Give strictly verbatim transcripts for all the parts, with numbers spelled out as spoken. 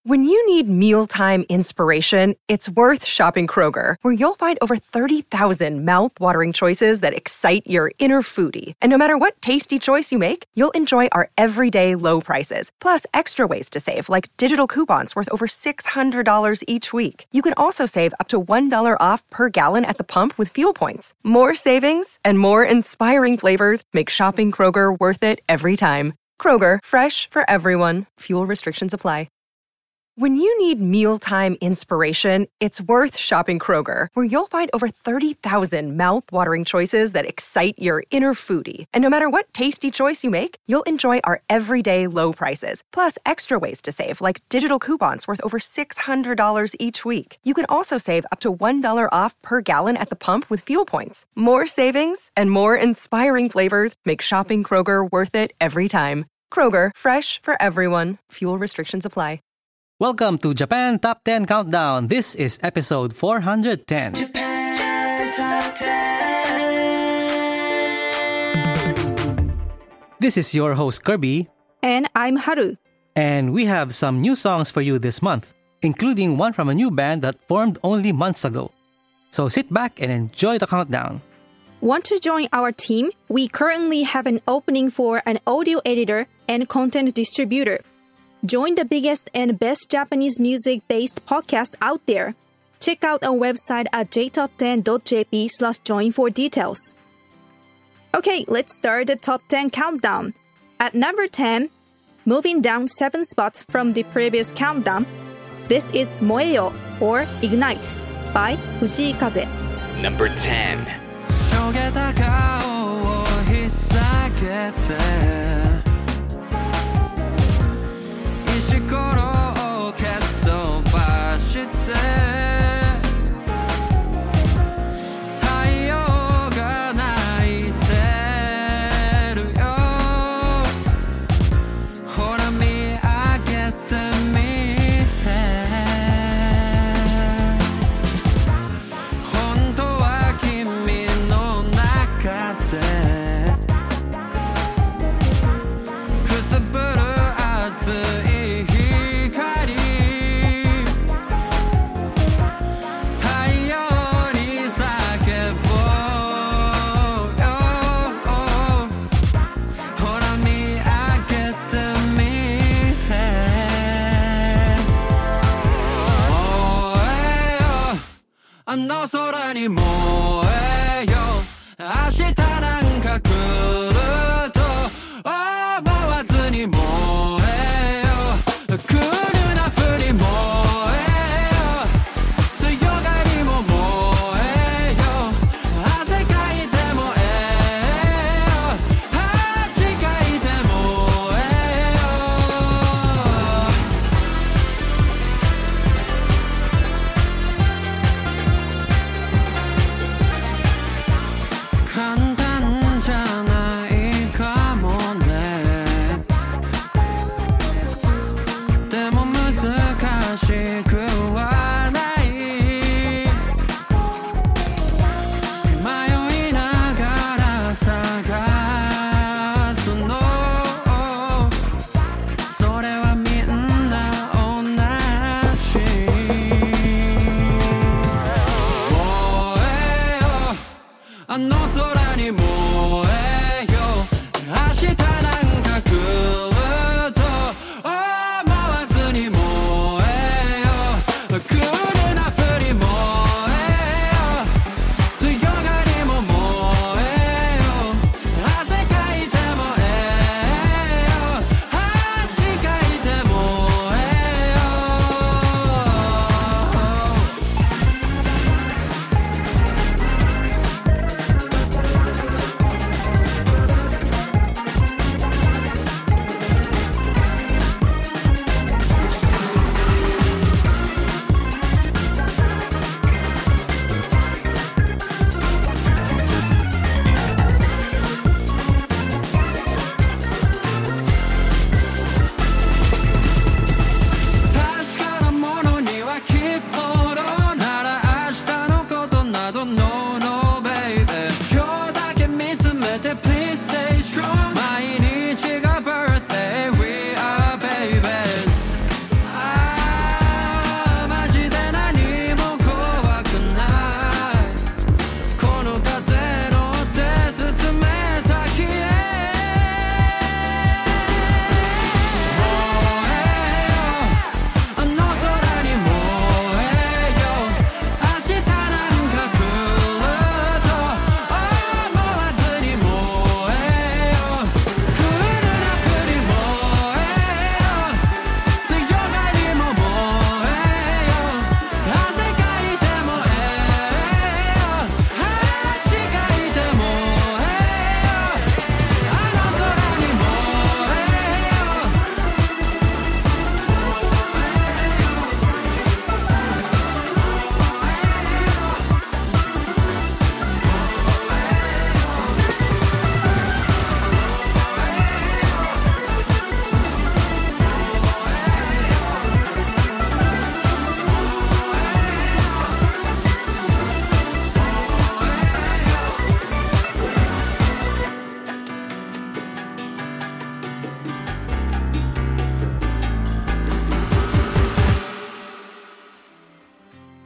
When you need mealtime inspiration, it's worth shopping Kroger, where you'll find over thirty thousand mouth-watering choices that excite your inner foodie. And no matter what tasty choice you make, you'll enjoy our everyday low prices, plus extra ways to save, like digital coupons worth over six hundred dollars each week. You can also save up to one dollar off per gallon at the pump with fuel points. More savings and more inspiring flavors make shopping Kroger worth it every time. Kroger, fresh for everyone. Fuel restrictions apply. When you need mealtime inspiration, it's worth shopping Kroger, where you'll find over thirty thousand mouth-watering choices that excite your inner foodie. And no matter what tasty choice you make, you'll enjoy our everyday low prices, plus extra ways to save, like digital coupons worth over six hundred dollars each week. You can also save up to one dollar off per gallon at the pump with fuel points. More savings and more inspiring flavors make shopping Kroger worth it every time. Kroger, fresh for everyone. Fuel restrictions apply. Welcome to Japan Top ten Countdown. This is episode four hundred ten. Japan Top ten. This is your host Kirby. And I'm Haru. And we have some new songs for you this month, including one from a new band that formed only months ago. So sit back and enjoy the countdown. Want to join our team? We currently have an opening for an audio editor and content distributor. Join the biggest and best Japanese music-based podcast out there. Check out our website at j top ten dot j p slash join for details. Okay, let's start the top ten countdown. At number ten, moving down seven spots from the previous countdown, this is Moeyo or Ignite by Fujii Kaze. Number ten.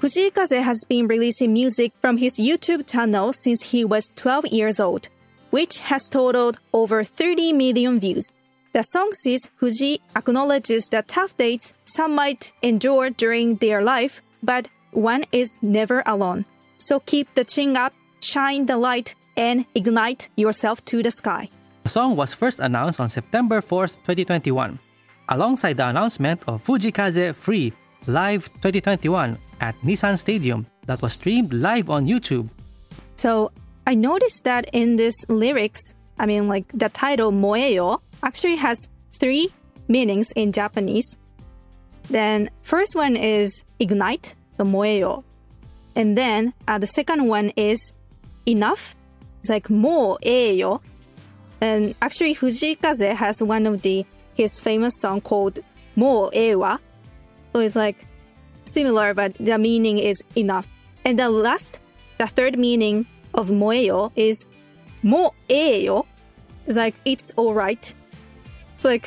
Fujii Kaze has been releasing music from his YouTube channel since he was twelve years old, which has totaled over thirty million views. The song says Fujii acknowledges the tough days some might endure during their life, but one is never alone. So keep the chin up, shine the light, and ignite yourself to the sky. The song was first announced on September fourth, twenty twenty-one, alongside the announcement of Fujii Kaze Free Live twenty twenty-one at Nissan Stadium that was streamed live on YouTube. So I noticed that in this lyrics, I mean like the title Moeyo actually has three meanings in Japanese. Then first one is ignite, the Moeyo. And then uh, the second one is enough. It's like Moeyo. And actually Fujii Kaze has one of the his famous song called Moewa. So it's like similar, but the meaning is enough. And the last, the third meaning of Moeyo is Moeyo. It's like it's alright. It's like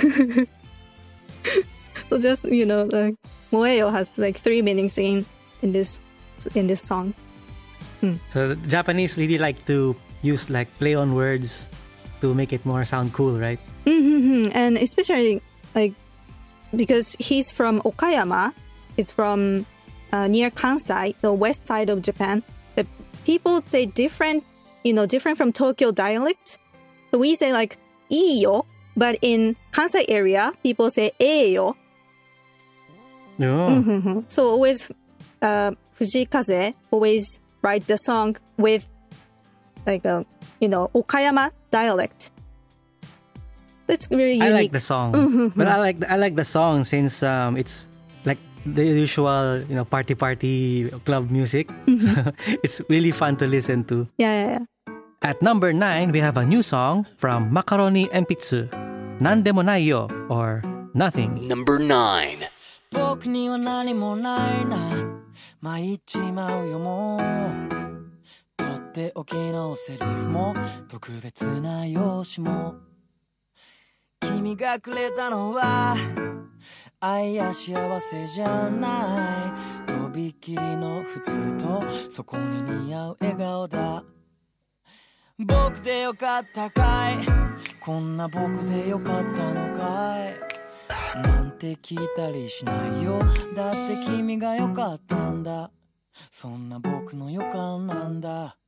so just, you know, like Moeyo has like three meanings in in this in this song. Hmm. So the Japanese really like to use like play on words to make it more sound cool, right? Mm-hmm. And especially like because he's from Okayama, he's from uh, near Kansai, the west side of Japan. The people say different, you know, different from Tokyo dialect. So we say like iyo, but in Kansai area, people say eyo. Oh. Mm-hmm. So always, uh, Fujii Kaze always write the song with like a, you know, Okayama dialect. It's really unique. I like the song, Mm-hmm. but I like I like the song since um it's like the usual, you know, party party club music. Mm-hmm. It's really fun to listen to. Yeah, yeah, yeah. At number nine, we have a new song from Macaroni Enpitsu, Nandemo Nai Yo, or Nothing. Number nine. 僕には何もないな参っちまうよもうとっておきのセリフも特別な用紙も君がくれたのは愛や幸せじゃないとびきりの普通とそこに似合う笑顔だ僕でよかったかいこんな僕でよかったのかいなんて聞いたりしないよだって君がよかったんだそんな僕の予感なんだ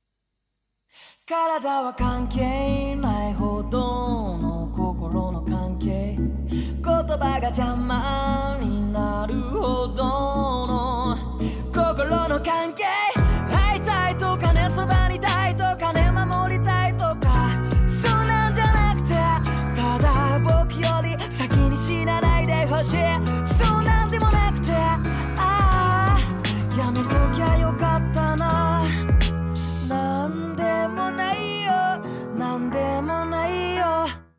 体は関係ないほどの心の関係言葉が邪魔になるほどの心の関係会いたいとかねそばにいたいとかね守りたいとかそうなんじゃなくてただ僕より先に死なないでほしいそうなんでもなくてああやめときゃよかったななんでもないよなんでもないよ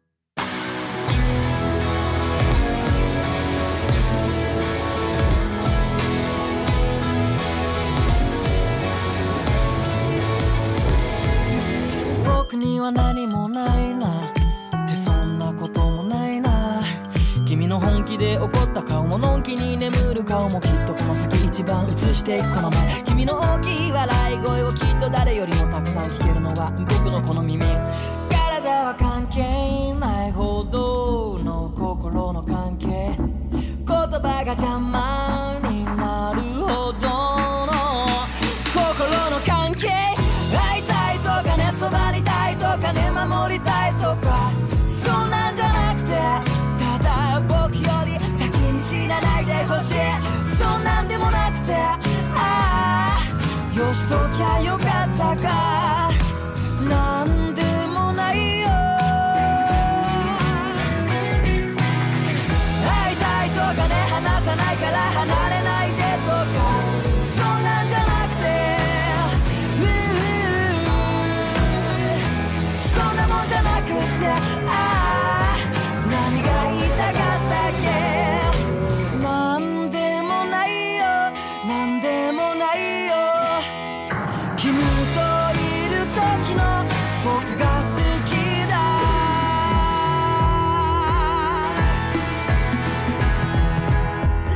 僕には何もないなってそんなこともないな君の本気で怒った顔ものんきに眠る顔もきっとこの先一番映していくこの目君の大きい笑い声をきっと誰よりもたくさん聞けるのは僕のこの耳体は関係ないほどの心の関係言葉が邪魔になるほどの心の関係会いたいとかねそばにいたいとかね守りたいとかそうなんじゃなくてただ僕より先に死なないでほしいそうなんでもなくてああよしときゃよかったかなんでもないよ会いたいとかね話さないから離れないでとかそんなんじゃなくてそんなもんじゃなくてああ何が言いたかったっけなんでもないよなんでもないよ君といる時の僕が好きだラ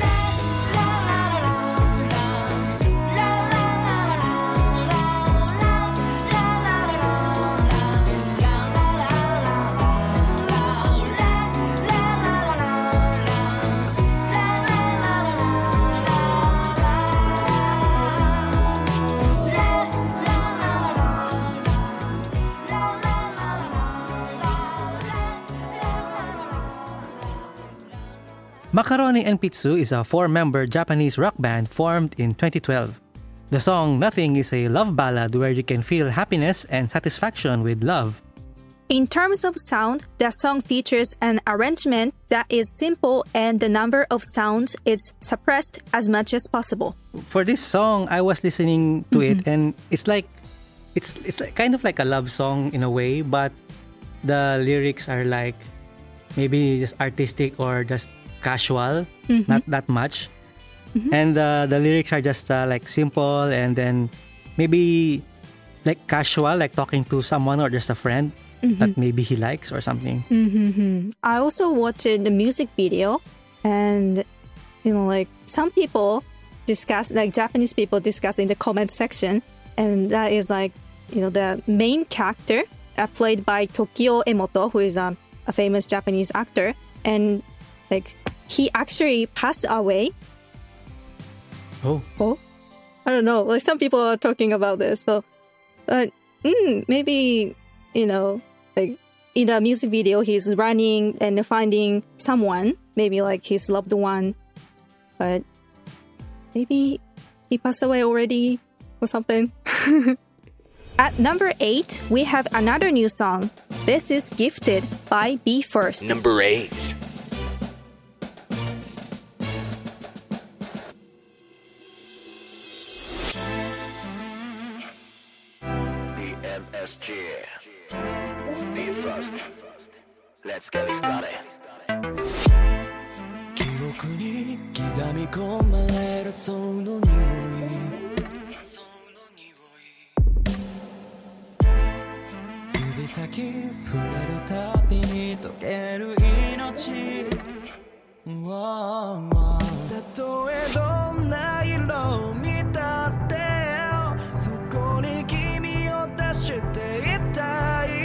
Macaroni Enpitsu is a four-member Japanese rock band formed in twenty twelve. The song Nothing is a love ballad where you can feel happiness and satisfaction with love. In terms of sound, the song features an arrangement that is simple and the number of sounds is suppressed as much as possible. For this song, I was listening to mm-hmm. it and it's like it's it's like, kind of like a love song in a way, but the lyrics are like maybe just artistic or just casual, mm-hmm. not that much. Mm-hmm. And uh, the lyrics are just uh, like simple and then maybe like casual, like talking to someone or just a friend. Mm-hmm. That maybe he likes or something. Mm-hmm. I also watched the music video and, you know, like some people discuss, like Japanese people discuss in the comment section. And that is like, you know, the main character uh, played by Tokio Emoto, who is um, a famous Japanese actor. And like he actually passed away. Oh. Oh? I don't know. Like some people are talking about this, but uh, mm, maybe, you know, like in the music video, he's running and finding someone, maybe like his loved one, but maybe he passed away already or something. At number eight, we have another new song. This is Gifted by Be First. Number eight. B M S G. Be first. Let's get it started. 記憶に刻み込まれるその匂い指先触れるたびに溶ける命たとえどんな色を見たってそこに君を出していたい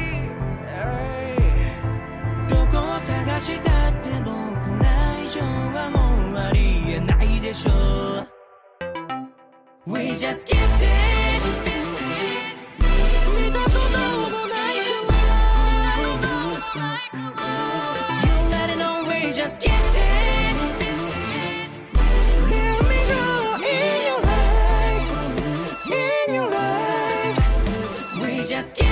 どこを探したって僕ら以上はもうありえないでしょう We just gifted 見たこともないくらい You let it know we just gifted Let me go in your eyes In your eyes We just gifted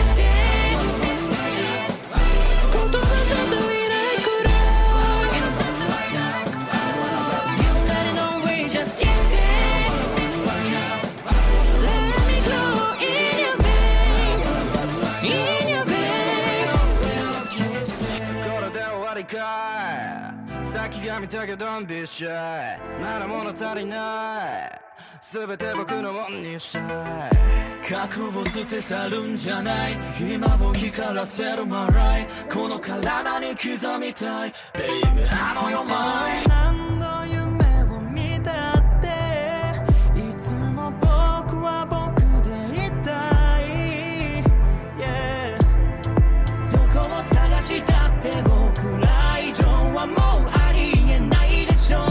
先が見たけど Don't be shy まだ物足りない全て僕のもんにしたい過去を捨て去るんじゃない今を光らせる My right この体に刻みたい Baby あの世前何度夢を見たっていつも僕は僕でいたい、yeah、どこを探したって僕ら以上はもうありえないでしょう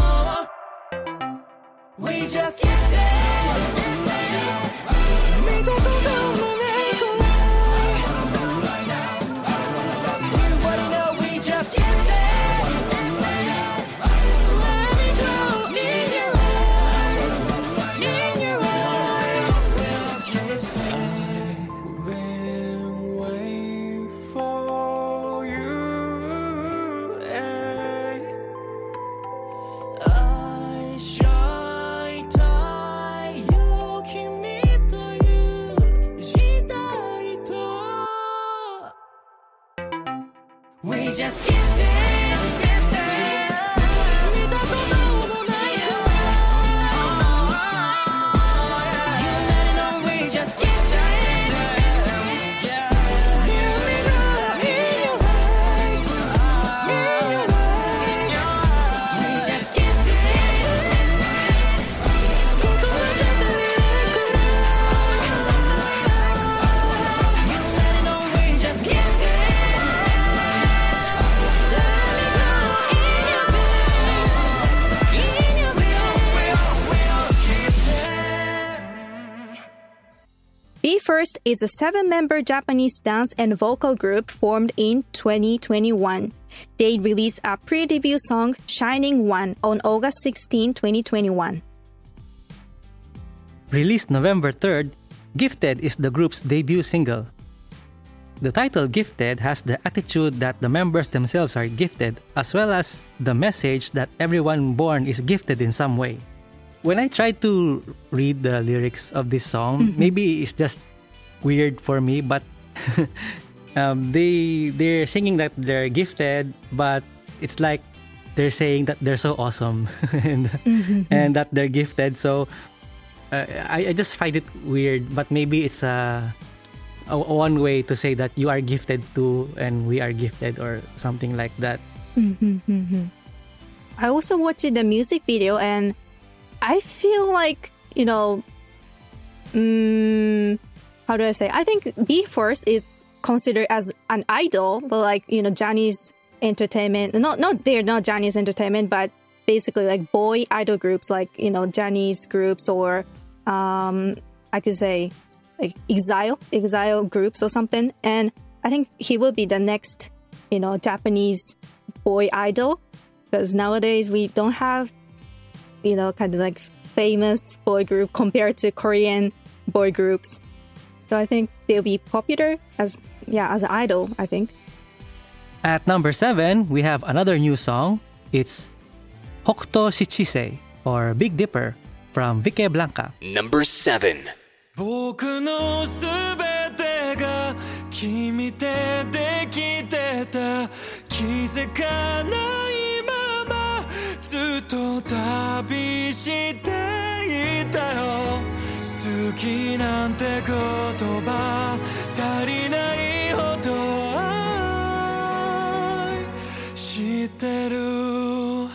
We just gifted 見たこともないくらい Everybody know we just gifted Let me go in your eyes In your eyes I've been waiting for you I shine太陽君という時代と We just gifted 見たこともないくらい You let it know we just gifted Let me go in your eyes In your eyes We just gifted 言葉じゃ足りないくらい You let it know we just gifted Let me go in your veins In your veins Be First is a seven-member Japanese dance and vocal group formed in twenty twenty-one. they released a pre-debut song, Shining One, on August sixteenth, twenty twenty-one. Released November third, Gifted is the group's debut single. The title Gifted has the attitude that the members themselves are gifted, as well as the message that everyone born is gifted in some way. When I try to read the lyrics of this song, mm-hmm. maybe it's just weird for me, but um, they, they're singing that they're gifted, but it's like they're saying that they're so awesome and, mm-hmm. and that they're gifted. So uh, I, I just find it weird, but maybe it's a... A, one way to say that you are gifted too and we are gifted or something like that. Mm-hmm. I also watched the music video and I feel like, you know, um, how do I say? I think BE:FIRST is considered as an idol, like, you know, Johnny's Entertainment. Not, not they're not Johnny's Entertainment, but basically like boy idol groups, like, you know, Johnny's groups or um, I could say, like exile, exile groups or something. And I think he will be the next, you know, Japanese boy idol. Because nowadays we don't have, you know, kind of like famous boy group compared to Korean boy groups. So I think they'll be popular as, yeah, as an idol, I think. At number seven, we have another new song. It's Hokuto Shichise, or Big Dipper, from Vicky Blanca. Number seven. 僕のすべてが君でできてた気づかないままずっと旅していたよ好きなんて言葉足りないほど愛してる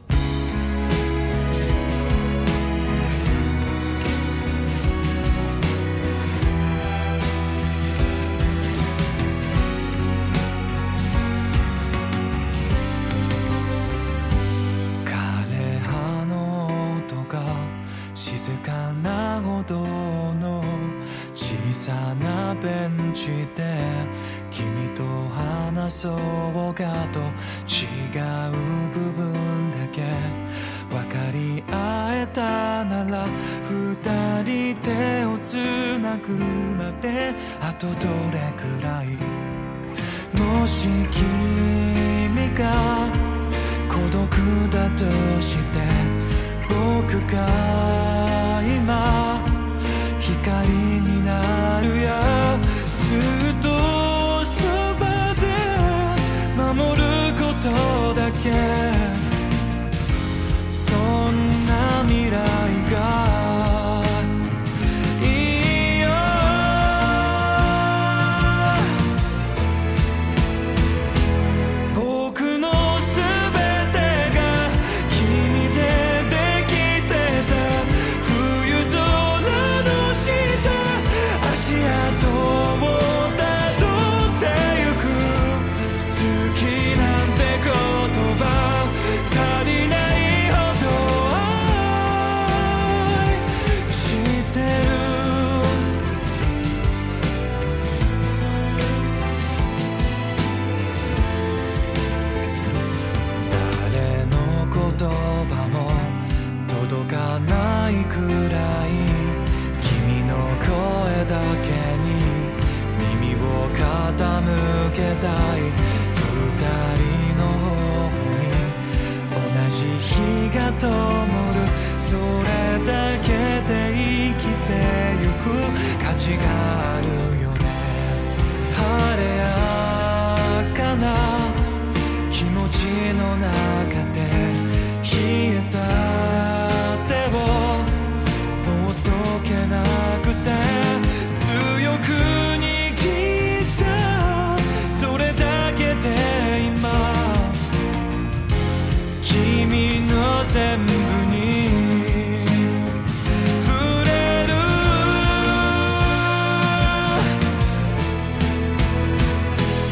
静かな歩道の小さなベンチで君と話そうかと違う部分だけ分かり合えたなら二人手をつなぐまであとどれくらいもし君が孤独だとして僕が今光になるよずっとそばで守ることだけそんな未来がいいよ僕のすべてが君で足跡をたどってゆく好きなんて言葉足りないほど愛してる誰の言葉も届かないくらい君の声だけに耳を傾けたい二人の方に同じ日が灯るそれだけで生きてゆく価値があるよね晴れやかな気持ちの中で冷えた手をほどけなくて強く握ったそれだけで今君の全部に触れる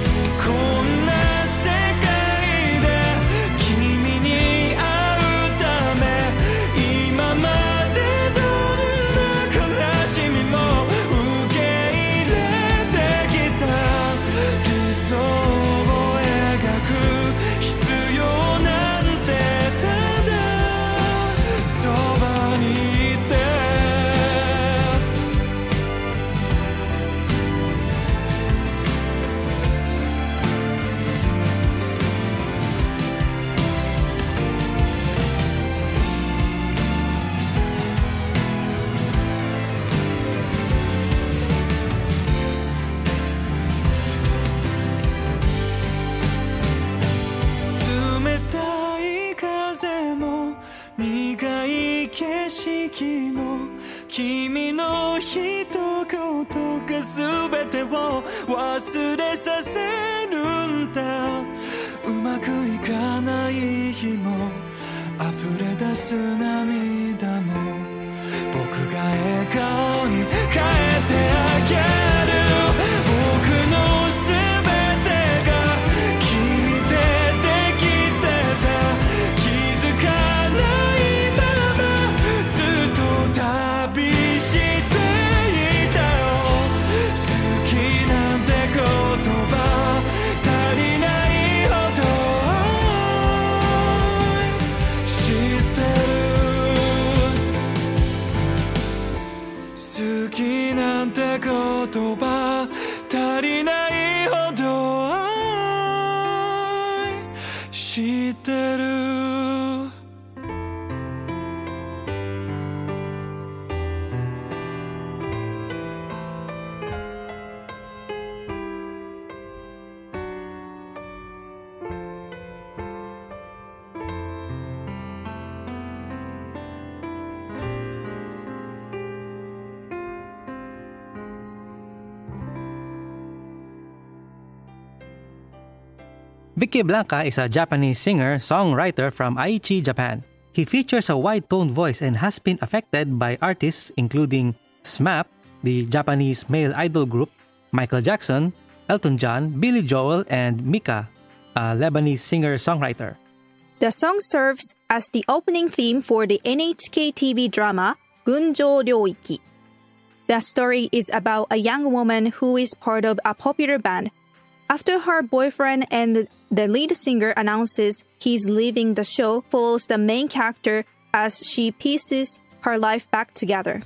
苦い景色も君の一言が全てを忘れさせるんだうまくいかない日も溢れ出す涙も僕が笑顔に変えてあげる僕の全てが君でできてた気づかないままずっと旅していたよ好きなんて言葉足りないほど知ってる好きなんて言葉足りないほど知ってる Vicky Blanca is a Japanese singer-songwriter from Aichi, Japan. He features a wide-toned voice and has been affected by artists including S M A P, the Japanese male idol group, Michael Jackson, Elton John, Billy Joel, and Mika, a Lebanese singer-songwriter. The song serves as the opening theme for the N H K T V drama Gunjō Ryoiki. The story is about a young woman who is part of a popular band. After her boyfriend and the lead singer announces he's leaving, the show follows the main character as she pieces her life back together.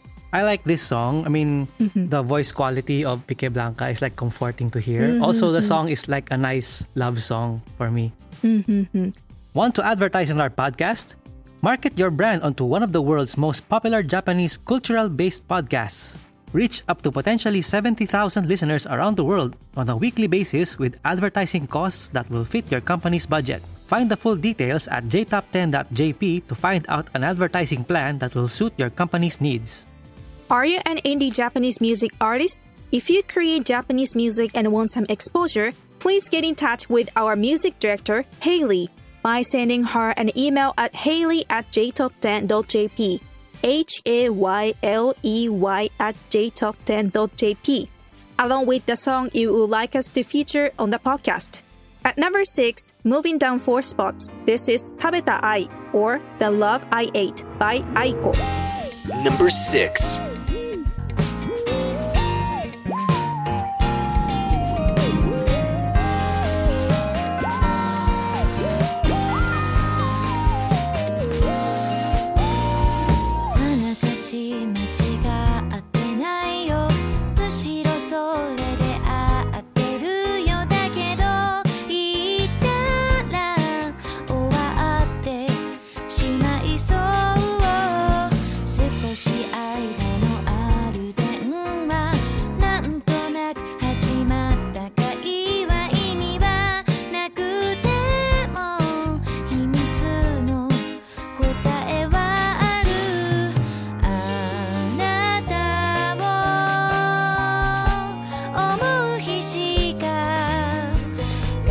I like this song. I mean, mm-hmm. the voice quality of Vicky Blanca is like comforting to hear. Mm-hmm. Also, the song is like a nice love song for me. Mm-hmm. Want to advertise on our podcast? Market your brand onto one of the world's most popular Japanese cultural-based podcasts. Reach up to potentially seventy thousand listeners around the world on a weekly basis with advertising costs that will fit your company's budget. Find the full details at j top ten dot j p to find out an advertising plan that will suit your company's needs. Are you an indie Japanese music artist? If you create Japanese music and want some exposure, please get in touch with our music director, Hayley, by sending her an email at hayley at j top ten dot j p. H A Y L E Y at j top ten dot j p, along with the song you would like us to feature on the podcast. At number six, moving down four spots, this is Tabeta Ai, or The Love I Ate by Aiko. Number six.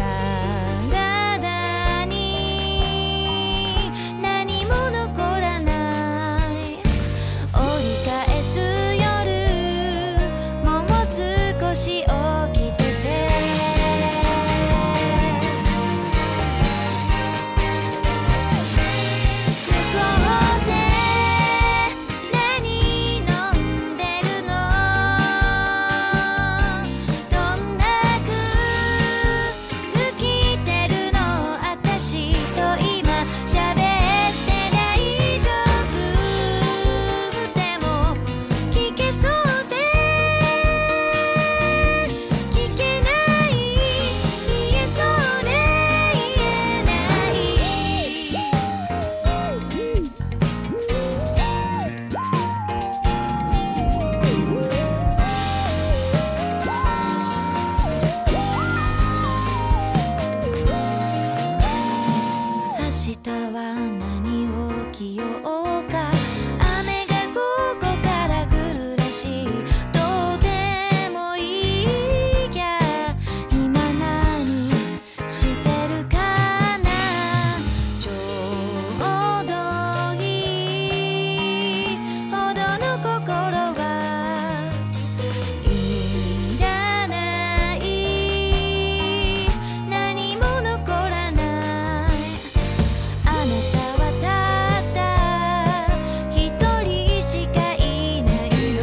何も残らないきようか雨が午後から降るらしいどうでもいいや今何してるかなちょうどいいほどの心はいらない何も残らないあなたはたった一人しかいないの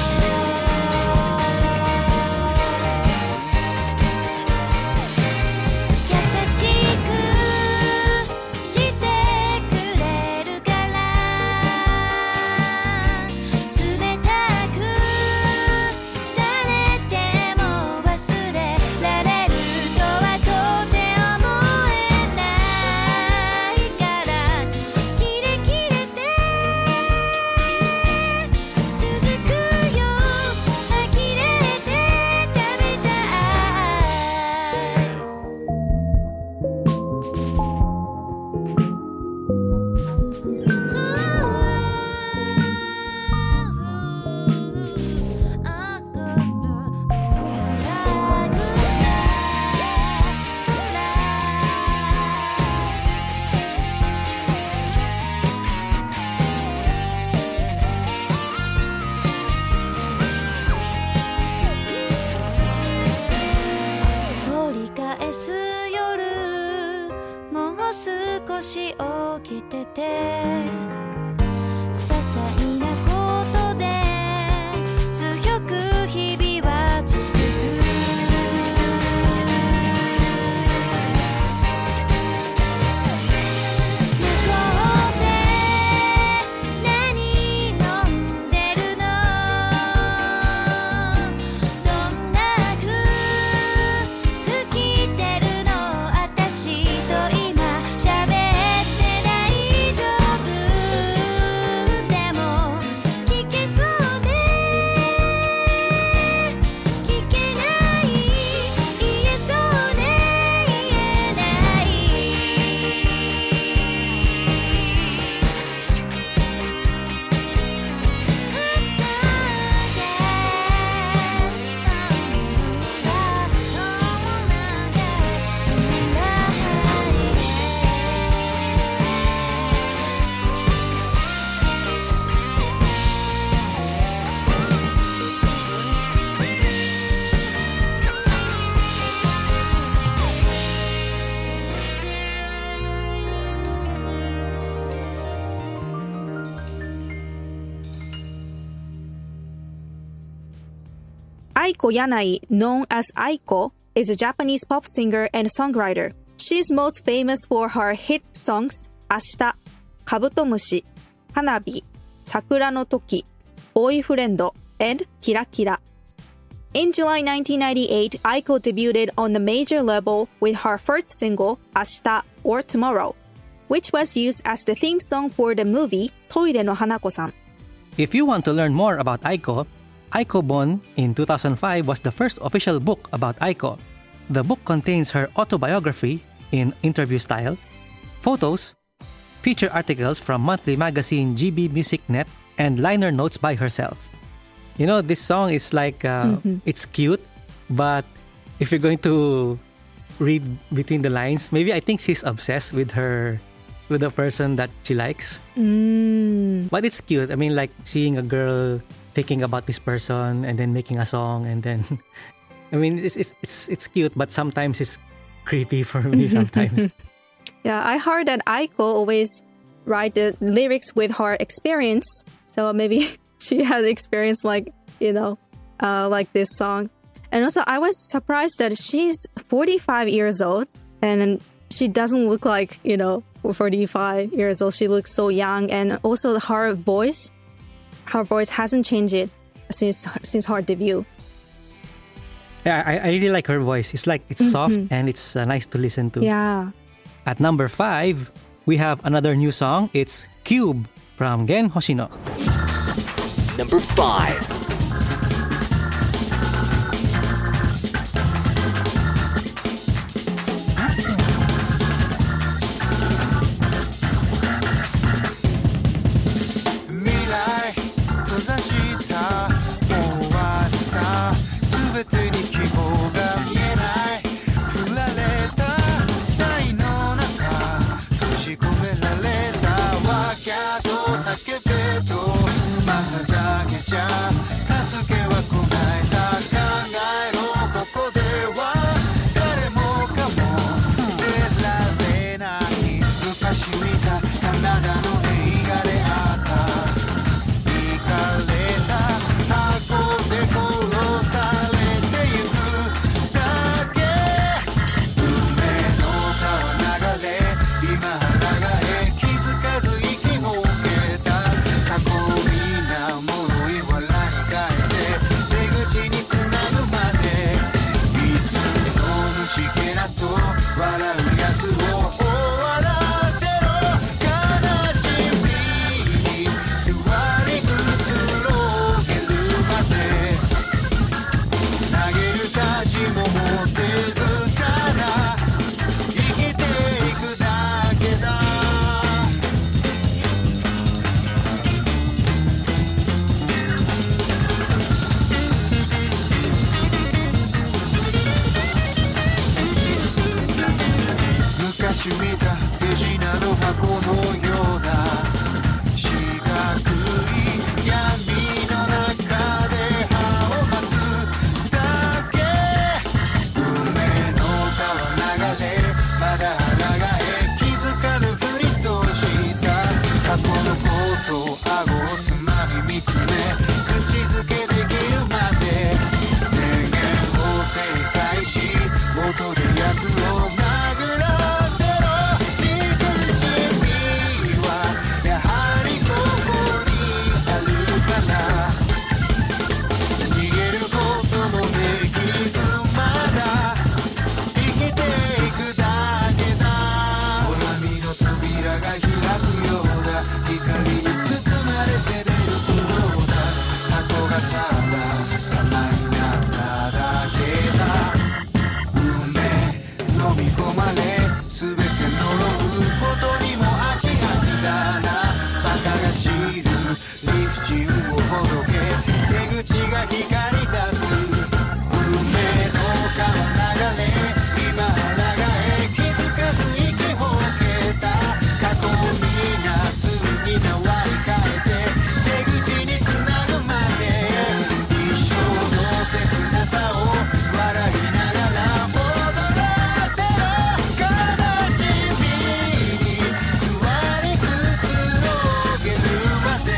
優しくしてくれるから冷たくされても忘れられるとはとて思えないからキレキレで続くよ呆れて食べた折り返す夜もう少し起きてて些細なことで強く日々は続く向こうで何飲んでるのどんな服着てるの私と今喋って大丈夫でも聞けそうで聞けない言えそうで言えない Aiko Yanai, known as Aiko, is a Japanese pop singer and songwriter. She's most famous for her hit songs Ashita, Kabutomushi, Hanabi, Sakura no Toki, Boyfriend, and Kira Kira. In July nineteen ninety-eight, Aiko debuted on the major label with her first single, Ashita or Tomorrow, which was used as the theme song for the movie Toire no Hanako-san. If you want to learn more about Aiko, Aiko Bon in two thousand five was the first official book about Aiko. The book contains her autobiography in interview style, photos, feature articles from monthly magazine G B Music Net, and liner notes by herself. You know, this song is like, uh, mm-hmm. it's cute, but if you're going to read between the lines, maybe I think she's obsessed with her, with the person that she likes. Mm. But it's cute. I mean, like seeing a girl thinking about this person and then making a song and then I mean it's it's it's, it's cute, but sometimes it's creepy for me sometimes. Yeah, I heard that Aiko always write the lyrics with her experience, so maybe she has experience like, you know, uh, like this song. And also I was surprised that she's forty-five years old and she doesn't look like, you know, forty-five years old. She looks so young, and also her voice Her voice hasn't changed since since her debut. Yeah, I, I really like her voice. It's like, it's soft mm-hmm. and it's uh, nice to listen to. Yeah. At number five, we have another new song. It's Cube from Gen Hoshino. Number five. 「 と顎をつまみ見つめ口づけできるまで前言を撤回し元で奴を殴らせろ憎しみはやはりここにあるから逃げることもできずまだ生きていくだけだほら身の扉が開くようだ光に包まれて出るところだ箱がただ玉になっただけだ運命飲み込まれ全て呪うことにも飽き飽きだなバカが知る理不尽をほどけ出口が光り出す運命の川流れ今流れ気づかず息ほけた過去に夏に縄に変えて出口につなぐまで一生の切なさを笑いながら踊らせろ悲しみに座りくつろげるまで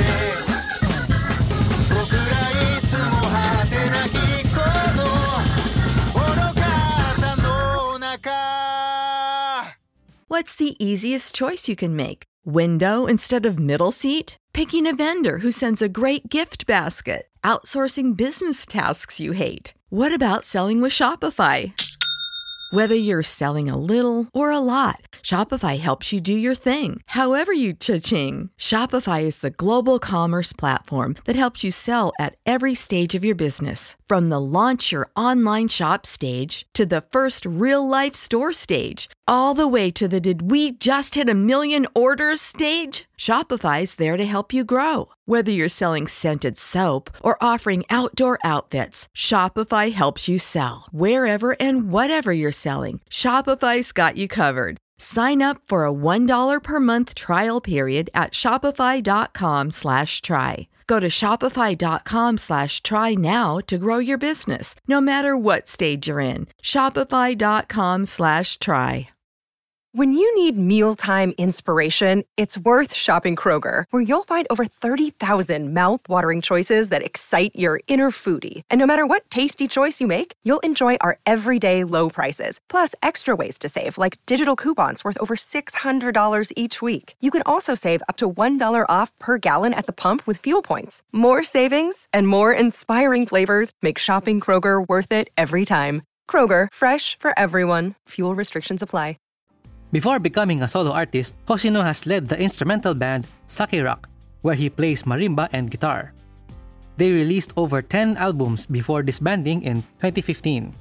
僕らいつも果てなきこの愚かさの中 What's the easiest choice you can make? Window instead of middle seat? Picking a vendor who sends a great gift basket? Outsourcing business tasks you hate? What about selling with Shopify? Whether you're selling a little or a lot, Shopify helps you do your thing, however you cha-ching. Shopify is the global commerce platform that helps you sell at every stage of your business. From the launch your online shop stage to the first real-life store stage, all the way to the did we just hit a million orders stage? Shopify's there to help you grow. Whether you're selling scented soap or offering outdoor outfits, Shopify helps you sell. Wherever and whatever you're selling, Shopify's got you covered. Sign up for a one dollar per month trial period at shopify.com slash try. Go to shopify.com slash try now to grow your business, no matter what stage you're in. Shopify.com slash try. When you need mealtime inspiration, it's worth shopping Kroger, where you'll find over thirty thousand mouth-watering choices that excite your inner foodie. And no matter what tasty choice you make, you'll enjoy our everyday low prices, plus extra ways to save, like digital coupons worth over six hundred dollars each week. You can also save up to one dollar off per gallon at the pump with fuel points. More savings and more inspiring flavors make shopping Kroger worth it every time. Kroger, fresh for everyone. Fuel restrictions apply. Before becoming a solo artist, Hoshino has led the instrumental band Sake Rock, where he plays marimba and guitar. They released over ten albums before disbanding in twenty fifteen.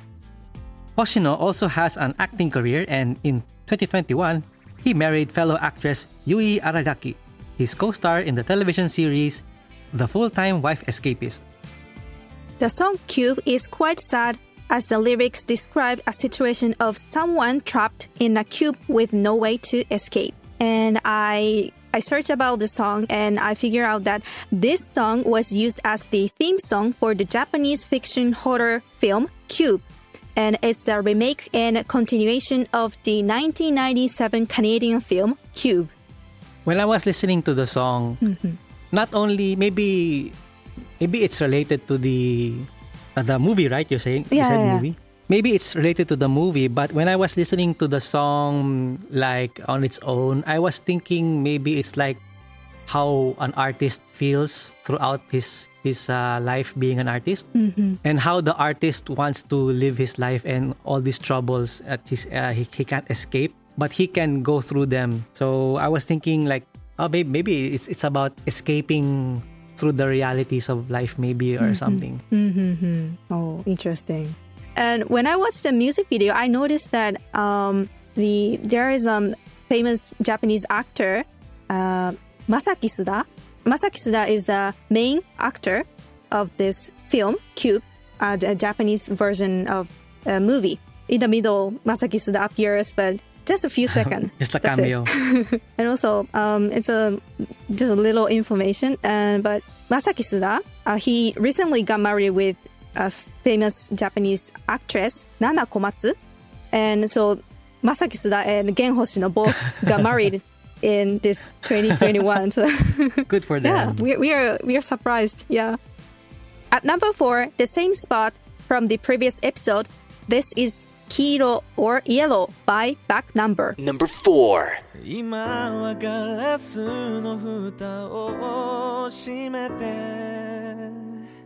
Hoshino also has an acting career, and in twenty twenty-one, he married fellow actress Yui Aragaki, his co-star in the television series The Full-Time Wife Escapist. The song Cube is quite sad, as the lyrics describe a situation of someone trapped in a cube with no way to escape. And I I searched about the song and I figured out that this song was used as the theme song for the Japanese fiction horror film Cube. And it's the remake and continuation of the nineteen ninety-seven Canadian film Cube. When I was listening to the song, mm-hmm. not only maybe maybe it's related to the Uh, the movie, right? You're saying? Yeah, you said yeah, movie? Yeah. Maybe it's related to the movie, but when I was listening to the song like on its own, I was thinking maybe it's like how an artist feels throughout his his uh, life being an artist, mm-hmm. and how the artist wants to live his life and all these troubles at his uh, he, he can't escape, but he can go through them. So I was thinking like, oh, maybe, maybe it's it's about escaping through the realities of life, maybe, or mm-hmm. something. Mm-hmm. Oh, interesting. And when I watched the music video, I noticed that um, the there is a um, famous Japanese actor, uh, Masaki Suda. Masaki Suda is the main actor of this film, Cube, uh, the Japanese version of a movie. In the middle, Masaki Suda appears, but just a few seconds. Just a cameo. And also, um, it's a just a little information. And but Masaki Suda, uh, he recently got married with a famous Japanese actress, Nana Komatsu. And so Masaki Suda and Gen Hoshino both got married in this twenty twenty-one. So good for them. Yeah, we, we are we are surprised. Yeah. At number four, the same spot from the previous episode. This is 黄色 or Yellow by Back Number. Number four. 今はガラスの蓋を閉めて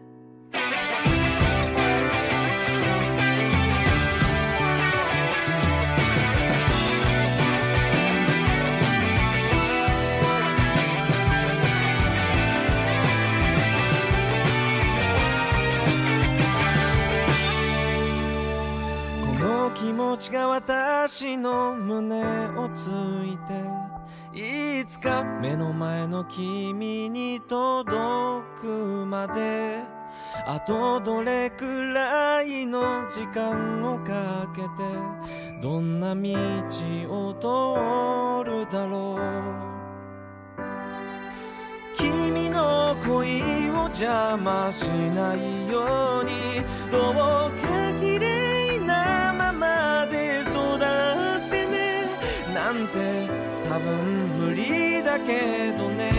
気持ちが私の胸をついていつか目の前の君に届くまであとどれくらいの時間をかけてどんな道を通るだろう君の恋を邪魔しないようにどうか綺麗なままで育ってねなんて多分無理だけどね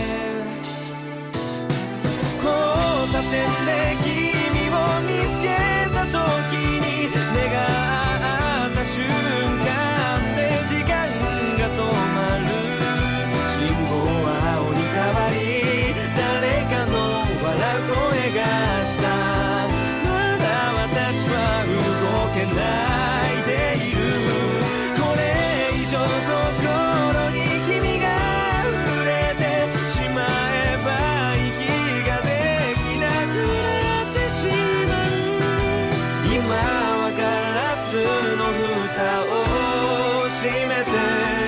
交差点で君を見つけた時に目が合った瞬間で時間が止まる信号は青に変わり誰かの笑う声がしたまだ私は動けないでいるこれ以上心に君が触れてしまえば息ができなくなってしまう今はガラスの蓋を閉めて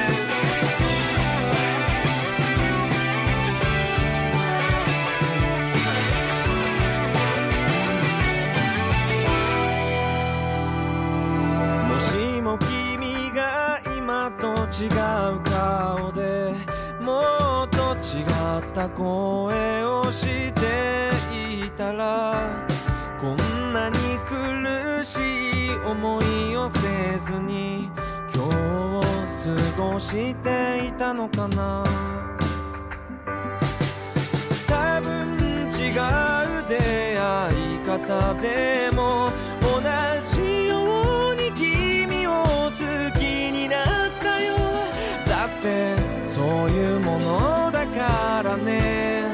違う顔でもっと違った声をしていたらこんなに苦しい思いをせずに今日を過ごしていたのかな多分違う出会い方でも同じように君を好きになったよだってそういうものだからね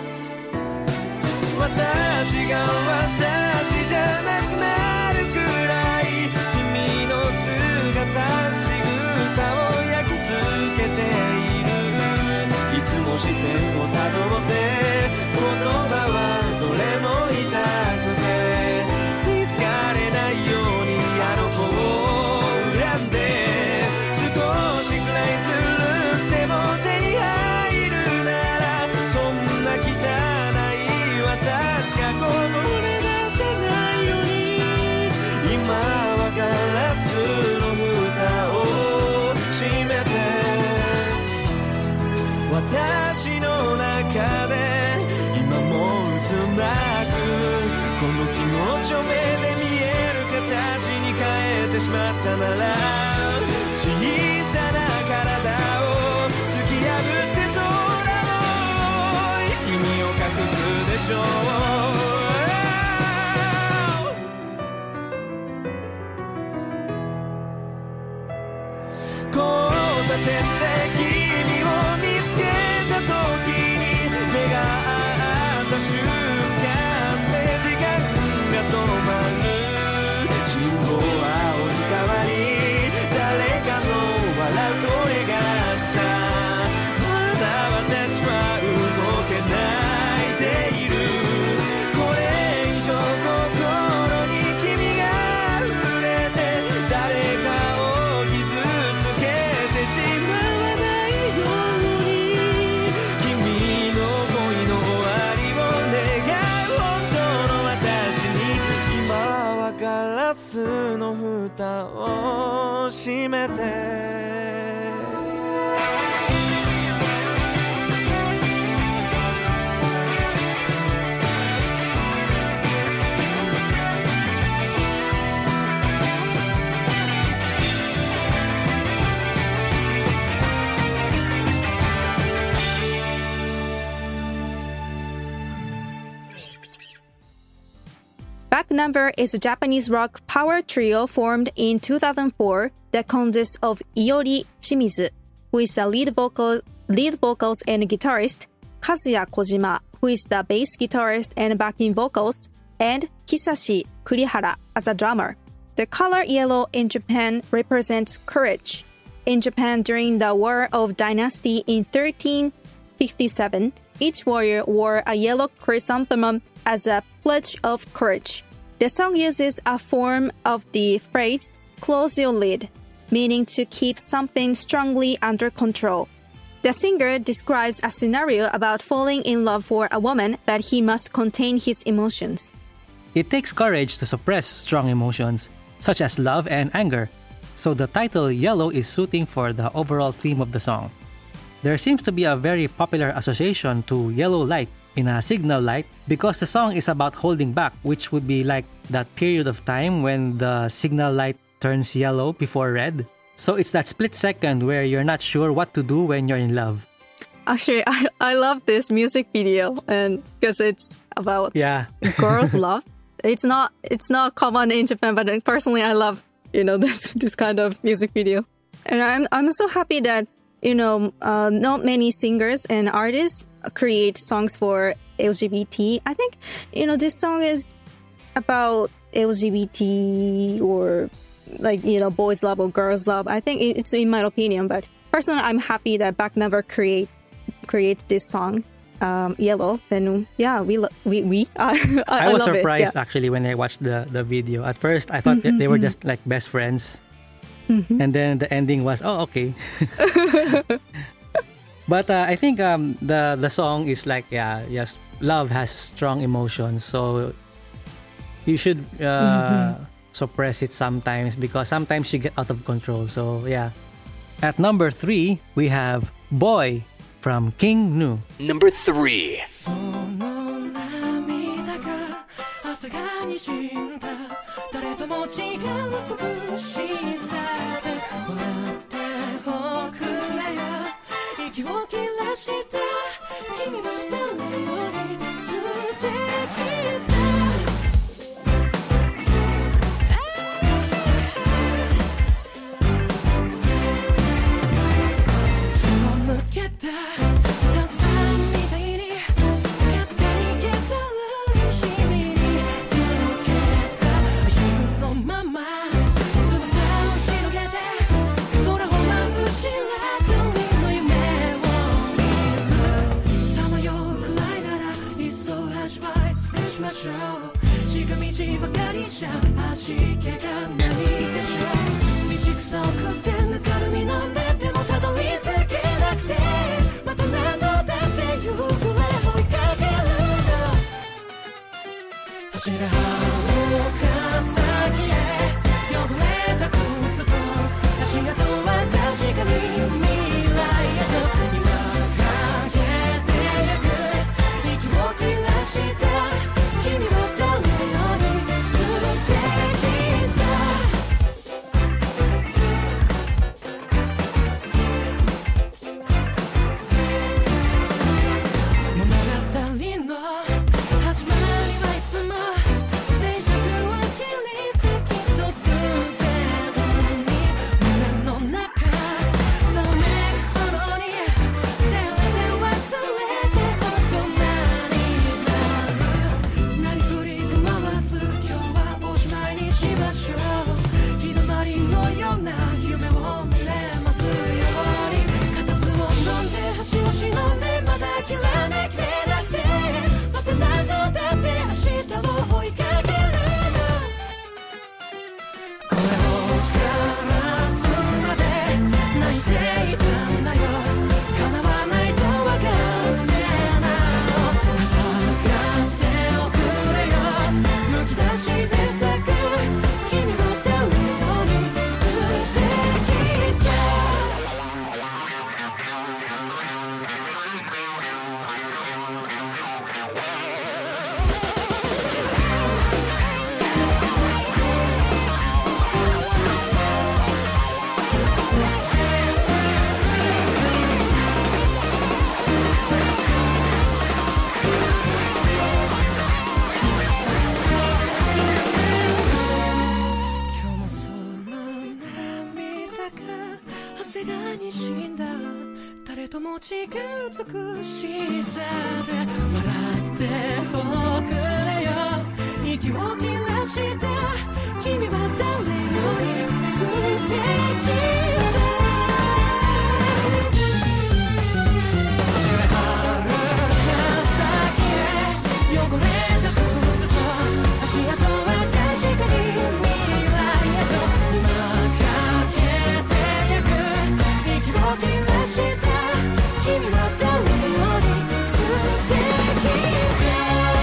私が私じゃなくなるくらい君の姿仕草を焼き付けているいつも視線をたどって言葉はどれも痛くて気づかれないようにあの子を恨んで少しくらいずるくても手に入るならそんな汚い私がこぼれ出せないように今はガラスの蓋を閉めて私の中で今も渦巻くこの気持ちを目で見える形に変えてしまったなら小さな体を突き破って空を君を隠すでしょう交差点で君を見つけた時に目が合った瞬間で時間が止まる信号は青に変わり誰かの笑う声がしたまだ私は動けないでいるこれ以上心に君が触れて誰かを傷つけてしまわないように君の恋の終わりを願う本当の私に今はガラスの蓋を閉めて Back Number is a Japanese rock power trio formed in two thousand four that consists of Iori Shimizu, who is the lead vocal, lead vocals and guitarist, Kazuya Kojima, who is the bass guitarist and backing vocals, and Kisashi Kurihara as a drummer. The color yellow in Japan represents courage. In Japan, during the War of Dynasty in thirteen fifty-seven, each warrior wore a yellow chrysanthemum as a pledge of courage. The song uses a form of the phrase, close your lid, meaning to keep something strongly under control. The singer describes a scenario about falling in love for a woman, but he must contain his emotions. It takes courage to suppress strong emotions, such as love and anger, so the title Yellow is suiting for the overall theme of the song. There seems to be a very popular association to yellow light in a signal light because the song is about holding back, which would be like that period of time when the signal light turns yellow before red. So it's that split second where you're not sure what to do when you're in love. Actually, I, I love this music video, and because it's about yeah. girls' love. It's not it's not common in Japan, but personally, I love you know this this kind of music video, and I'm I'm so happy that you know uh, not many singers and artists create songs for L G B T. I think you know this song is about L G B T or like you know boys love or girls love. I think it's in my opinion, but personally, I'm happy that Back Number create creates this song. Um, yellow, then yeah, we lo- we we. Uh, I, I was I love surprised it. Yeah. actually when I watched the, the video. At first, I thought mm-hmm, they were mm-hmm. just like best friends, mm-hmm. and then the ending was oh okay. But uh, I think um, the the song is like yeah yes love has strong emotions, so you should uh, mm-hmm. suppress it sometimes because sometimes you get out of control. So yeah, at number three we have Boy from King Gnu. Number three. ちが美しさで笑っておくれよ息を切らして君は誰より素敵さ知れはるか先へ汚れた靴と足跡は確かに未来へと今かけてゆく息を切らして君は誰より素敵さ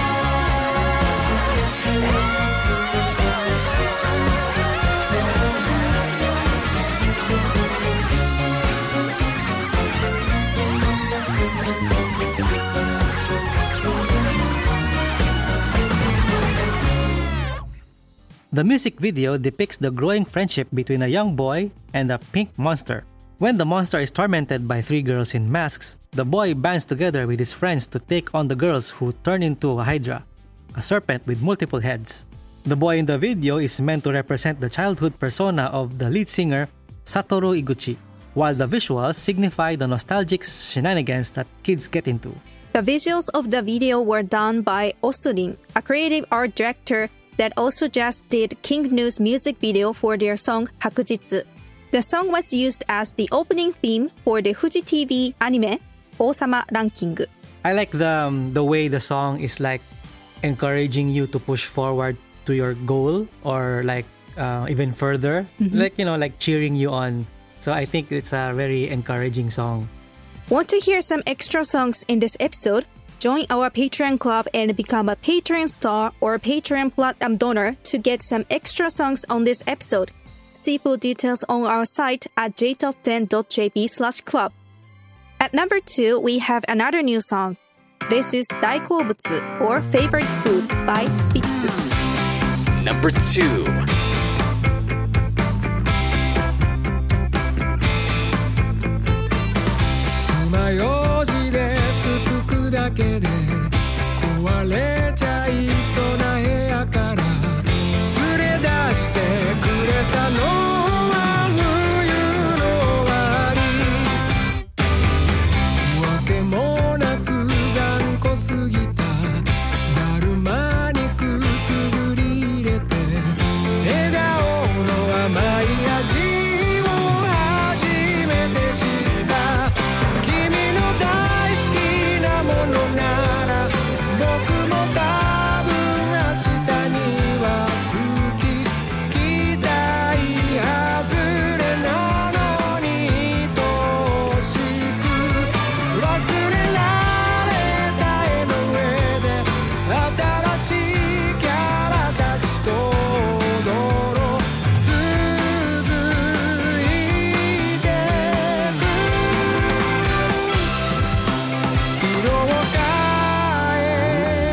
The music video depicts the growing friendship between a young boy and a pink monster. When the monster is tormented by three girls in masks, the boy bands together with his friends to take on the girls who turn into a hydra, a serpent with multiple heads. The boy in the video is meant to represent the childhood persona of the lead singer, Satoru Iguchi, while the visuals signify the nostalgic shenanigans that kids get into. The visuals of the video were done by Osurin, a creative art director that also just did King Gnu's music video for their song Hakujitsu. The song was used as the opening theme for the Fuji T V anime Osama Ranking. I like the um, the way the song is like encouraging you to push forward to your goal or like uh, even further, mm-hmm. like you know, like cheering you on. So I think it's a very encouraging song. Want to hear some extra songs in this episode? Join our Patreon club and become a Patreon star or Patreon Platinum donor to get some extra songs on this episode. See full details on our site at j top ten dot j p slash club. At number two, we have another new song. This is 大好物 or Favorite Food by Spitz. Number two. 爪楊枝でつつくだけで壊れちゃいそうな部屋から連れ出してくれたのは冬の終わりわけもなく頑固すぎただるまにくすぐり入れて笑顔の甘い味を初めて知った君の大好きなものなら僕も多分明日には好き期待外れなのに愛しく忘れられた絵の上で新しいキャラたちと踊ろう続いてく色を変え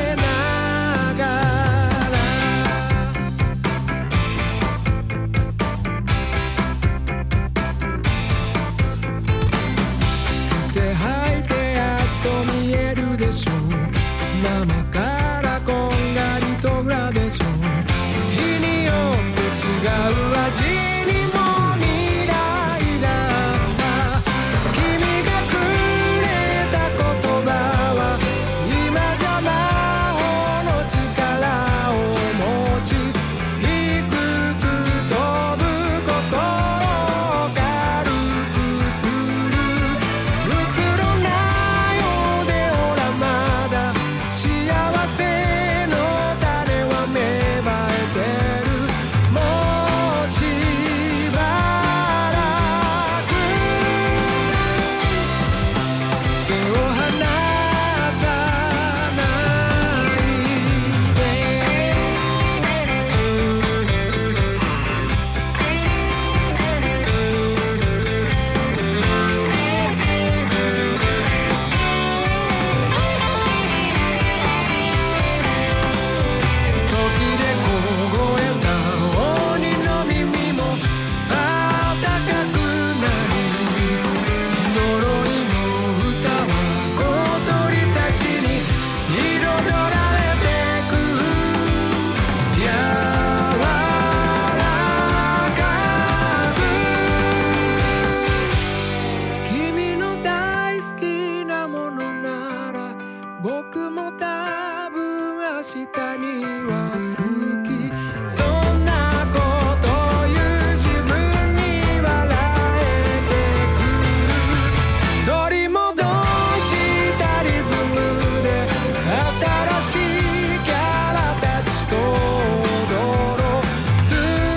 僕も多分明日には好きそんなこと言う自分に笑えてくる取り戻したリズムで新しいキャラたちと踊ろう続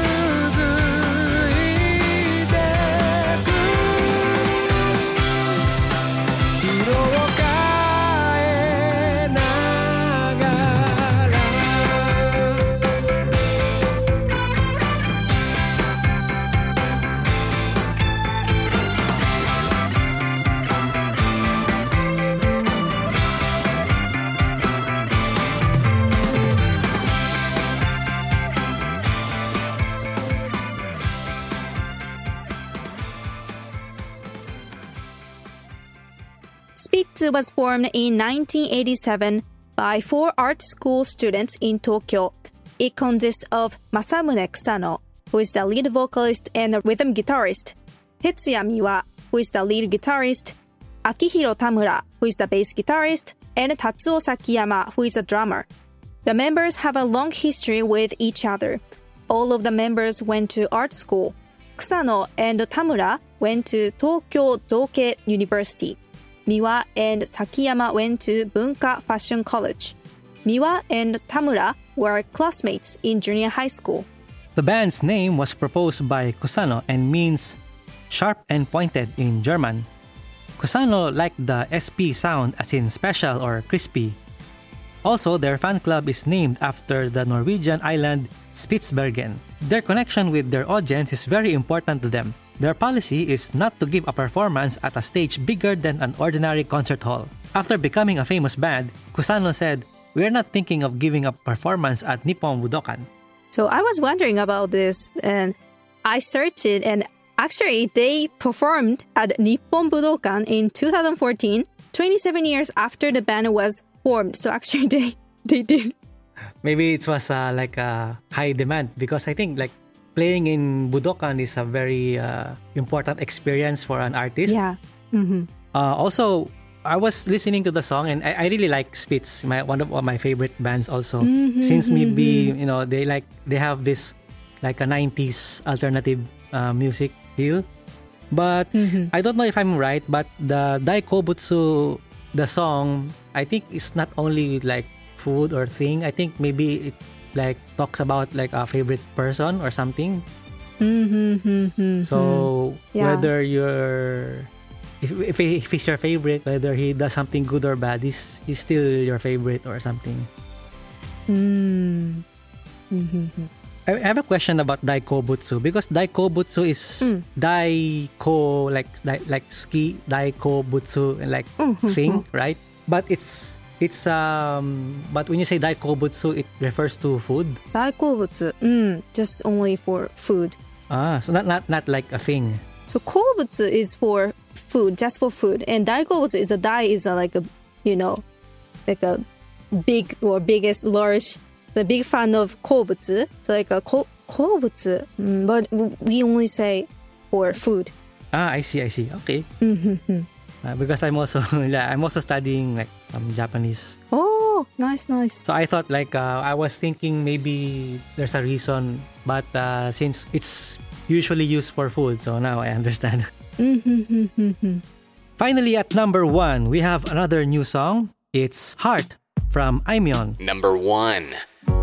いてく色を変えながら Spitz was formed in nineteen eighty-seven by four art school students in Tokyo. It consists of Masamune Kusano, who is the lead vocalist and rhythm guitarist, Tetsuya Miwa, who is the lead guitarist, Akihiro Tamura, who is the bass guitarist, and Tatsuo Sakiyama, who is a drummer. The members have a long history with each other. All of the members went to art school. Kusano and Tamura went to Tokyo Zoke University. Miwa and Sakiyama went to Bunka Fashion College. Miwa and Tamura were classmates in junior high school. The band's name was proposed by Kusano and means sharp and pointed in German. Kusano liked the S P sound as in special or crispy. Also, their fan club is named after the Norwegian island Spitsbergen. Their connection with their audience is very important to them. Their policy is not to give a performance at a stage bigger than an ordinary concert hall. After becoming a famous band, Kusano said, "We are not thinking of giving a performance at Nippon Budokan." So I was wondering about this and I searched it and actually they performed at Nippon Budokan in two thousand fourteen, twenty-seven years after the band was formed. So actually they, they did. Maybe it was uh, like a high demand because I think like playing in Budokan is a very uh, important experience for an artist. Yeah. Mm-hmm. Uh, also, I was listening to the song and I, I really like Spitz, my one of my favorite bands also. Mm-hmm, Since maybe, mm-hmm. you know, they like they have this like a nineties alternative uh, music feel. But mm-hmm. I don't know if I'm right, but the Daikobutsu, the song, I think it's not only like food or thing. I think maybe it like talks about like a favorite person or something. Mm-hmm, mm-hmm, so yeah. whether you're if, if if he's your favorite, whether he does something good or bad, he's, he's still your favorite or something. Mm. Mm-hmm. I have a question about Daikobutsu because Daikobutsu is mm. Daiko like like, like ski Daikobutsu like mm-hmm. thing, right? But it's It's um, but when you say Daikobutsu, it refers to food. Daikobutsu, mm, just only for food. Ah, so not not not like a thing. So kobutsu is for food, just for food, and Daikobutsu is a dai is a, like a you know, like a big or biggest large. The big fan of kobutsu, so like a ko, kobutsu, mm, but we only say for food. Ah, I see, I see. Okay. Mm-hmm. Uh, because I'm also I'm also studying like um, Japanese. Oh, nice, nice. So I thought like uh, I was thinking maybe there's a reason, but uh, since it's usually used for food, so now I understand. Mm-hmm. Finally, at number one, we have another new song. It's Heart from Aimyon. Number one.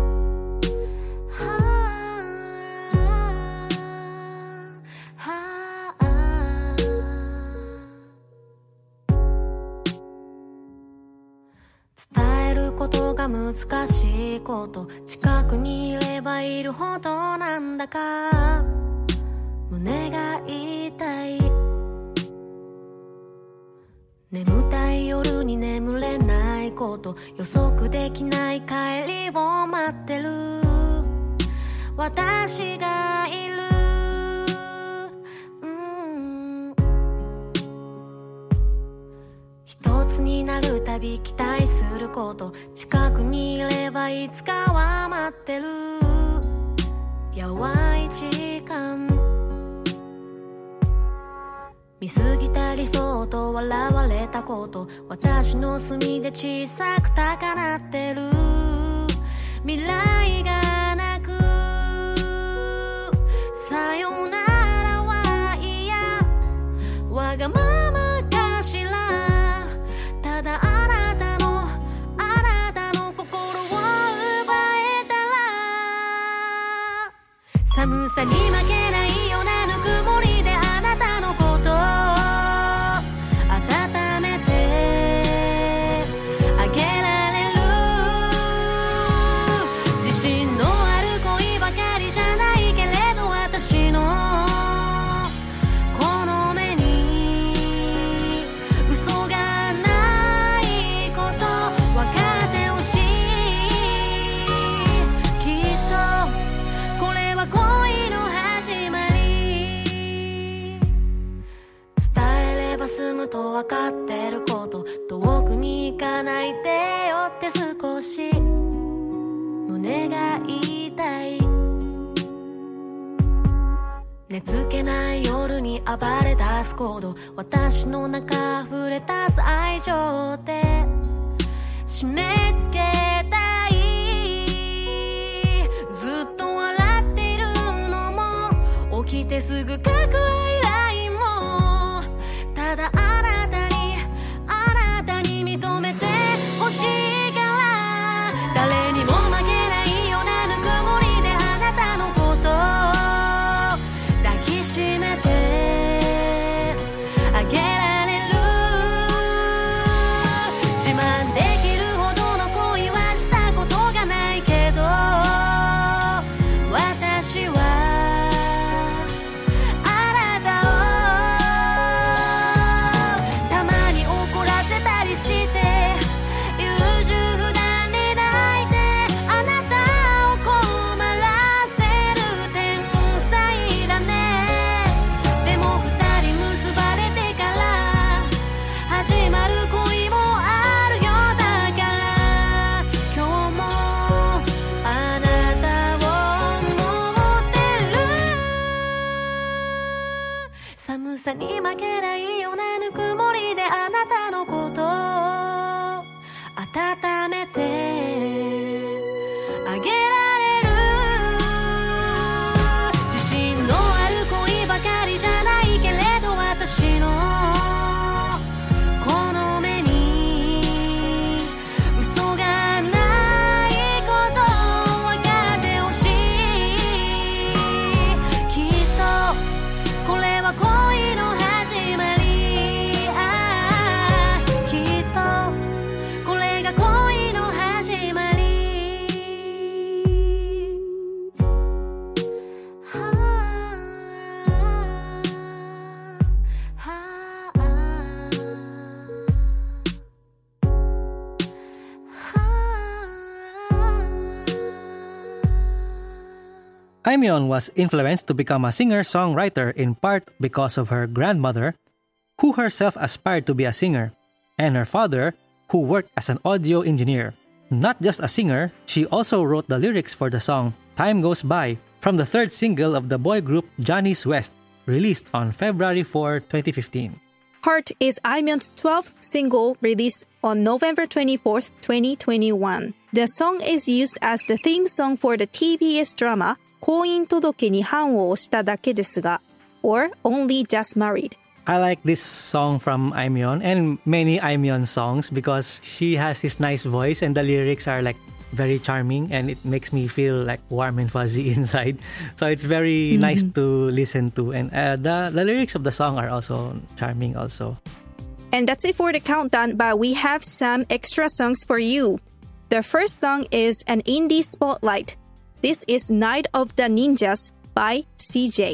難しいこと近くにいればいるほどなんだか胸が痛い眠たい夜に眠れないこと予測できない帰りを待ってる私がいる、うん、一つになるたび期待すること近くにいればいつかは待ってる淡い時間見過ぎた理想と笑われたこと、私の隅で小さく高鳴ってる未来がなく、さよならは嫌、わがままかしら、ただあなたのあなたの心を奪えたら、寒さに負けないようなぬくもりであなたのことを温めてあげられる。自信のある恋ばかりじゃないけれど、私のこの目に嘘がないこと分かってほしい。きっとこれは恋の始まり。伝えれば済むと分かってること、遠くに行かないでよって少し胸が痛い。寝つけない夜に暴れ出す行動、私の中溢れ出す愛情で締め付けたい。ずっと笑っているのも起きてすぐ書くアイラインも、ただあなたにあなたに認めてほしいから、誰にも負けないようなぬくもりであなたのことを抱きしめてあげられる。自慢できるほどの恋はしたことがないけど、私はあなたをたまに怒らせたりして、優柔不断に泣いてあなたを困らせる天才だね。でも二人結ばれてから始まる恋もあるよ。だから今日もあなたを思ってる。寒さに負けないようなぬくもりであなたのことを温めてあげられる。自信のある恋ばかりじゃないけれど、私のこの目に嘘がないこと分かってほしい。きっとこれは恋の始まり。ああ、きっとこれが恋の始まり。はあはあ Aimyon was influenced to become a singer-songwriter in part because of her grandmother, who herself aspired to be a singer, and her father, who worked as an audio engineer. Not just a singer, she also wrote the lyrics for the song Time Goes By from the third single of the boy group Johnny's West, released on February fourth, twenty fifteen. Heart is Aimyon's twelfth single released on November twenty-fourth, twenty twenty-one. The song is used as the theme song for the T B S drama 婚姻届に判を押しただけですが or Only Just Married. I like this song from Aimyon and many Aimyon songs because she has this nice voice and the lyrics are like very charming and it makes me feel like warm and fuzzy inside. So it's very mm-hmm. nice to listen to, and uh, the, the lyrics of the song are also charming also. And that's it for the countdown, but we have some extra songs for you. The first song is an indie spotlight. This is Night of the Ninjas by C J.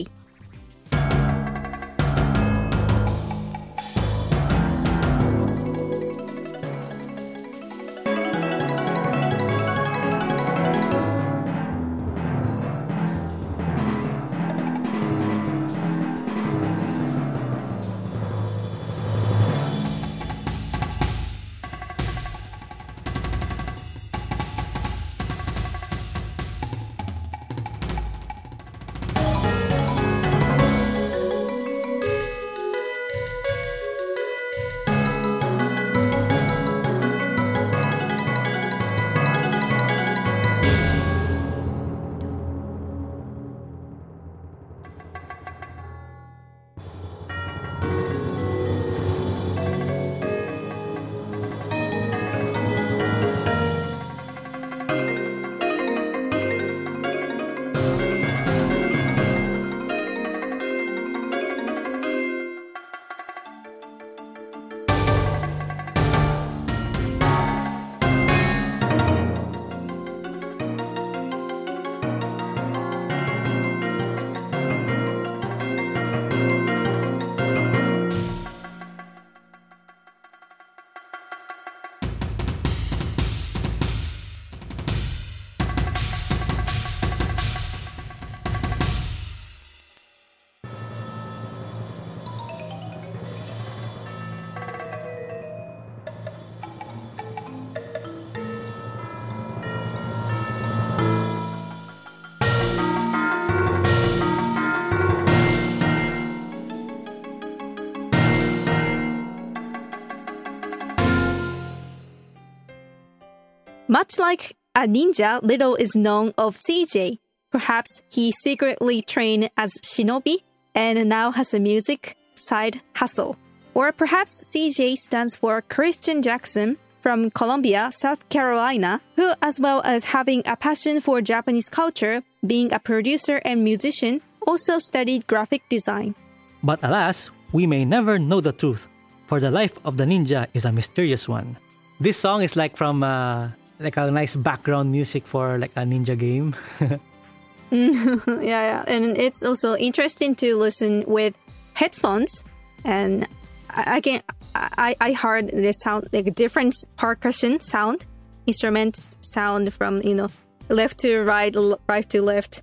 Much like a ninja, little is known of C J. Perhaps he secretly trained as shinobi and now has a music side hustle. Or perhaps C J stands for Christian Jackson from Columbia, South Carolina, who, as well as having a passion for Japanese culture, being a producer and musician, also studied graphic design. But alas, we may never know the truth, for the life of the ninja is a mysterious one. This song is like from uh, like a nice background music for like a ninja game. yeah, yeah, and it's also interesting to listen with headphones, and I, I can I I heard the sound like different percussion sound, instruments sound from you know left to right, right to left.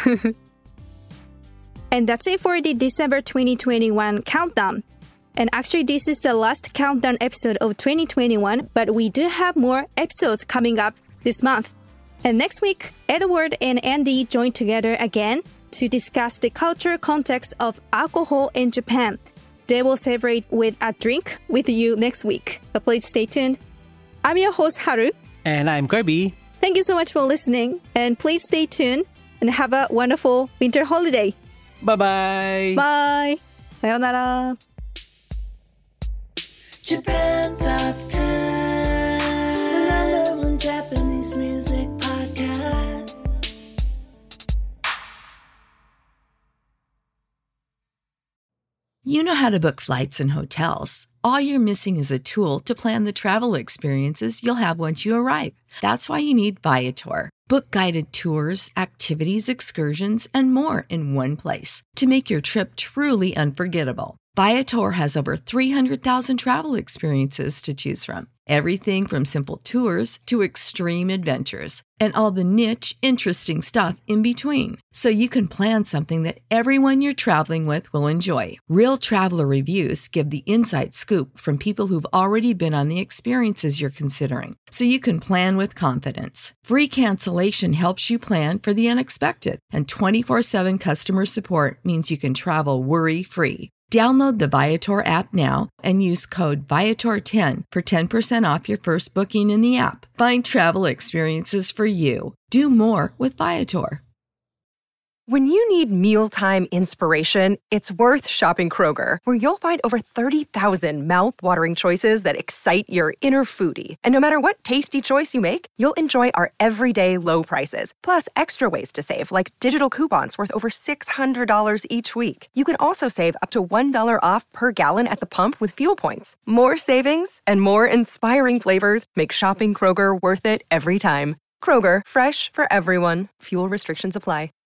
And that's it for the December twenty twenty-one countdown. And actually, this is the last countdown episode of twenty twenty-one, but we do have more episodes coming up this month. And next week, Edward and Andy join together again to discuss the cultural context of alcohol in Japan. They will celebrate with a drink with you next week. So please stay tuned. I'm your host, Haru. And I'm Kirby. Thank you so much for listening. And please stay tuned and have a wonderful winter holiday. Bye-bye. Bye. Sayonara. Japan Top ten, the number one Japanese music podcast. You know how to book flights and hotels. All you're missing is a tool to plan the travel experiences you'll have once you arrive. That's why you need Viator. Book guided tours, activities, excursions, and more in one place to make your trip truly unforgettable. Viator has over three hundred thousand travel experiences to choose from. Everything from simple tours to extreme adventures and all the niche, interesting stuff in between. So you can plan something that everyone you're traveling with will enjoy. Real traveler reviews give the inside scoop from people who've already been on the experiences you're considering. So you can plan with confidence. Free cancellation helps you plan for the unexpected. And twenty-four seven customer support means you can travel worry-free. Download the Viator app now and use code Viator ten for ten percent off your first booking in the app. Find travel experiences for you. Do more with Viator. When you need mealtime inspiration, it's worth shopping Kroger, where you'll find over thirty thousand mouth-watering choices that excite your inner foodie. And no matter what tasty choice you make, you'll enjoy our everyday low prices, plus extra ways to save, like digital coupons worth over six hundred dollars each week. You can also save up to one dollar off per gallon at the pump with fuel points. More savings and more inspiring flavors make shopping Kroger worth it every time. Kroger, fresh for everyone. Fuel restrictions apply.